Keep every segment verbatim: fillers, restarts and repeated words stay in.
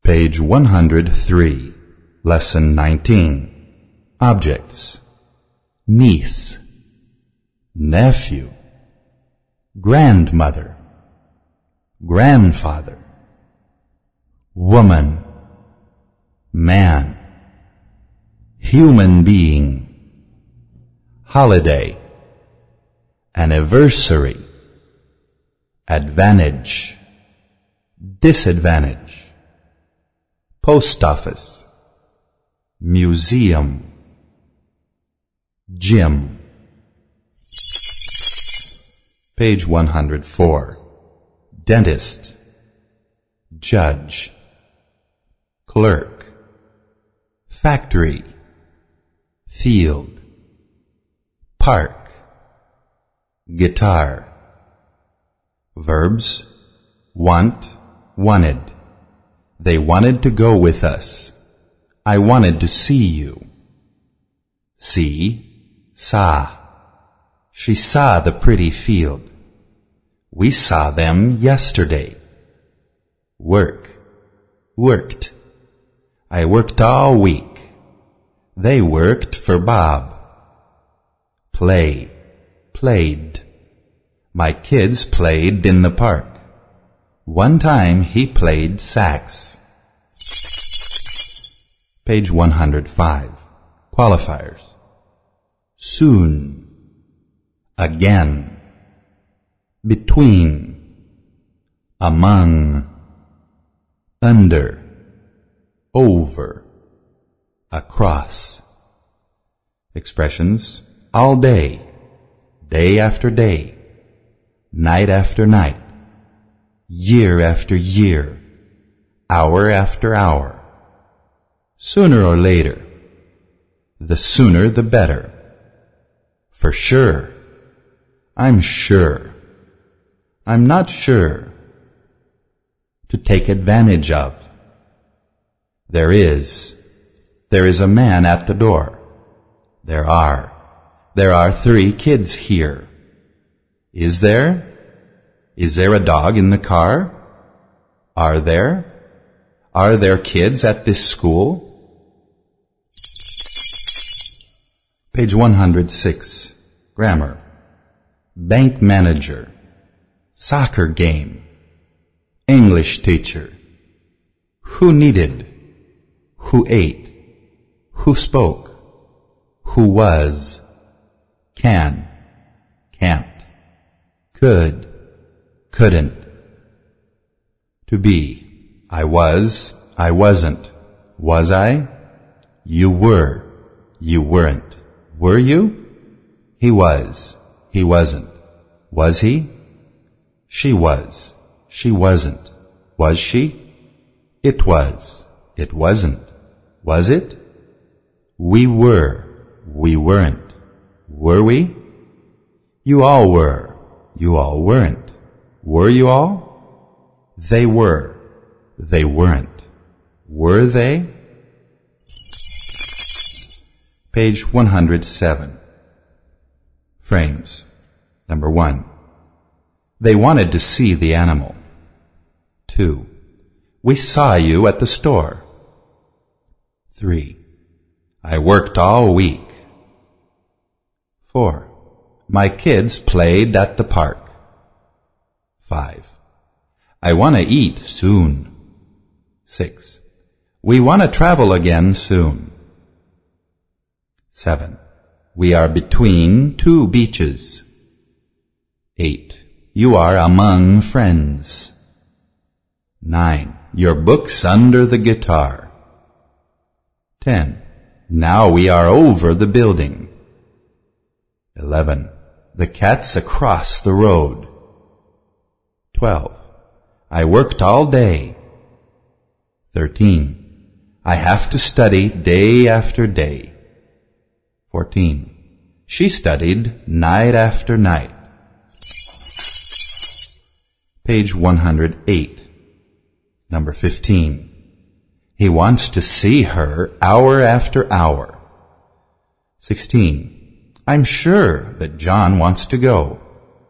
Page one hundred three, Lesson nineteen. Objects: niece, nephew, grandmother, grandfather, woman, man, human being, holiday, anniversary, advantage, disadvantage, post office, museum, gym. Page one hundred four. Dentist, judge, clerk, factory, field, park, guitar. Verbs: want, wanted. They wanted to go with us. I wanted to see you. See, saw. She saw the pretty field. We saw them yesterday. Work, worked. I worked all week. They worked for Bob. Play, played. My kids played in the park. One time he played sax. Page one hundred five. Qualifiers: soon, again, between, among, under, over, across. Expressions: all day, day after day, night after night, year after year, hour after hour, sooner or later, the sooner the better, for sure, I'm sure, I'm not sure, to take advantage of. There is, there is a man at the door. There are, there are three kids here. Is there? Is there a dog in the car? Are there? Are there kids at this school? Page one hundred six. Grammar: bank manager, soccer game, English teacher, who needed, who ate, who spoke, who was, can, can't, could, couldn't. To be: I was, I wasn't. Was I? You were, you weren't. Were you? He was, he wasn't. Was he? She was, she wasn't. Was she? It was, it wasn't. Was it? We were, we weren't. Were we? You all were, you all weren't. Were you all? They were, they weren't. Were they? Page one hundred seven. Frames. Number one. They wanted to see the animal. Two. We saw you at the store. Three. I worked all week. Four. My kids played at the park. Five. I want to eat soon. Six. We want to travel again soon. Seven. We are between two beaches. Eight. You are among friends. Nine. Your book's under the guitar. Ten. Now we are over the building. Eleven. The cat's across the road. Twelve. I worked all day. Thirteen. I have to study day after day. Fourteen. She studied night after night. Page one hundred eight. Number fifteen. He wants to see her hour after hour. Sixteen. I'm sure that John wants to go.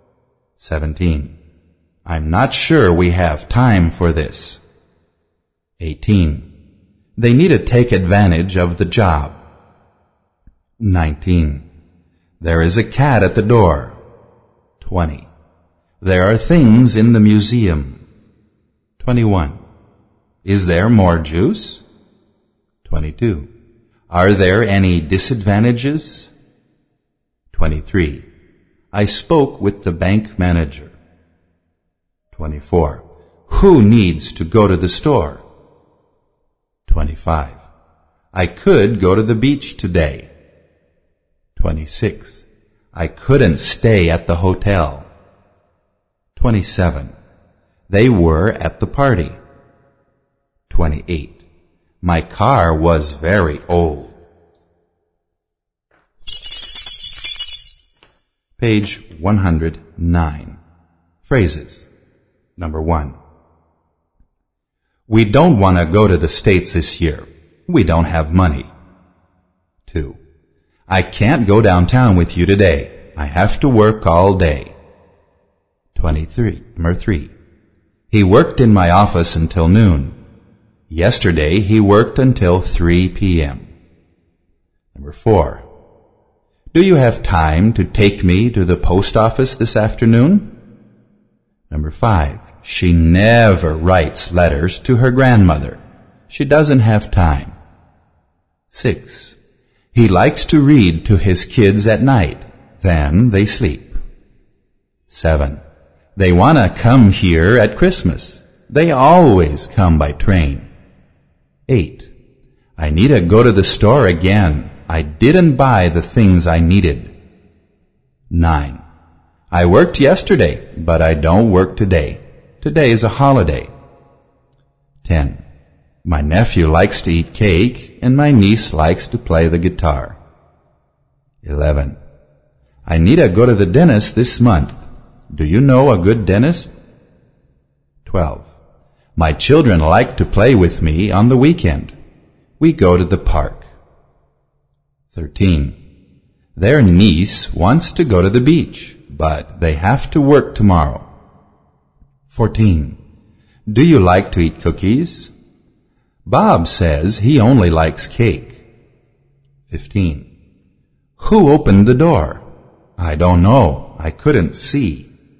Seventeen. I'm not sure we have time for this. eighteen. They need to take advantage of the job. nineteen. There is a cat at the door. twenty. There are things in the museum. twenty-one. Is there more juice? twenty-two. Are there any disadvantages? twenty-three. I spoke with the bank manager. twenty-four. Who needs to go to the store? twenty-five. I could go to the beach today. twenty-six. I couldn't stay at the hotel. twenty-seven. They were at the party. twenty-eight. My car was very old. Page one hundred nine. Phrases. Number one. We don't want to go to the States this year. We don't have money. Two. I can't go downtown with you today. I have to work all day. twenty-three. Number three. He worked in my office until noon. Yesterday he worked until three p.m. Number four. Do you have time to take me to the post office this afternoon? Number five. She never writes letters to her grandmother. She doesn't have time. Six. He likes to read to his kids at night. Then they sleep. Seven. They want to come here at Christmas. They always come by train. Eight. I need to go to the store again. I didn't buy the things I needed. Nine. I worked yesterday, but I don't work today. Today is a holiday. Ten. My nephew likes to eat cake, and my niece likes to play the guitar. Eleven. I need to go to the dentist this month. Do you know a good dentist? Twelve. My children like to play with me on the weekend. We go to the park. Thirteen. Their niece wants to go to the beach, but they have to work tomorrow. Fourteen. Do you like to eat cookies? Bob says he only likes cake. Fifteen. Who opened the door? I don't know. I couldn't see.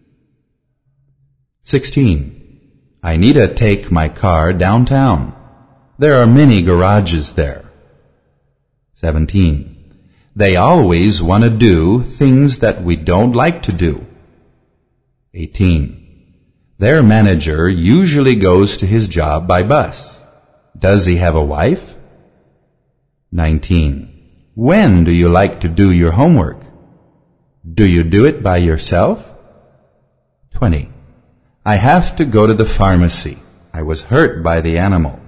Sixteen. I need to take my car downtown. There are many garages there. Seventeen. They always want to do things that we don't like to do. Eighteen. Their manager usually goes to his job by bus. Does he have a wife? Nineteen. When do you like to do your homework? Do you do it by yourself? Twenty. I have to go to the pharmacy. I was hurt by the animal.